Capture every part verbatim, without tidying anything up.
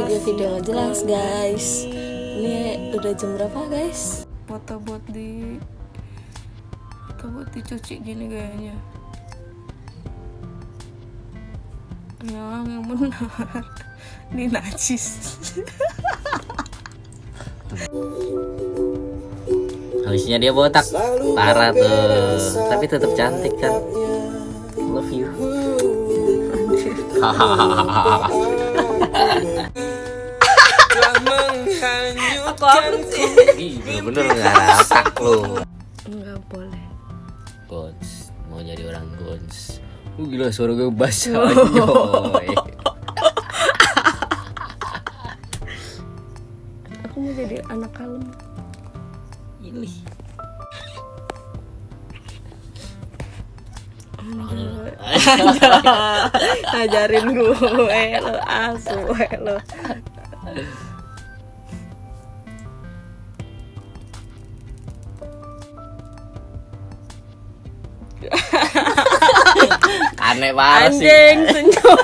Ya video nggak jelas guys. Ini udah jam berapa guys? Foto buat di foto buat dicuci gini kayaknya. Yang yang benar. Ini najis. Habisnya dia botak, parah tuh. Tapi tetap cantik kan. Love you. Hahaha. Aku apa sih? Ih, bener nggak otak lu. Enggak boleh. Gons, mau jadi orang gons. Uh, gila suara gue bass anjoy. Aku mau jadi anak kalem. Ini. Ajarin gue lo asu lo. Aneh banget sih. Anjing senyum.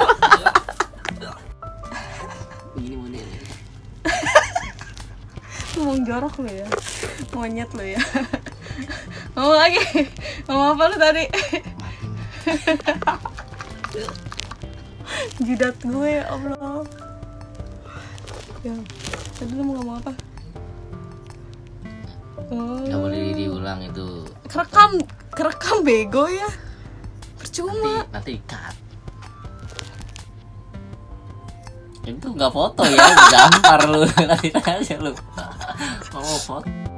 Ini mau nih. Ngomong jorok lo ya. Monyet lo ya. Ngomong lagi. Ngomong apa lo tadi? Jidat gue ya Allah. Ya, tadi lo mau ngomong apa? Oh. Gak boleh diulang itu. Kerekam, kerekam bego ya. Percuma. Nanti, nanti cut. Itu nggak foto ya, gampar lu. Nanti aja lu. Mau foto.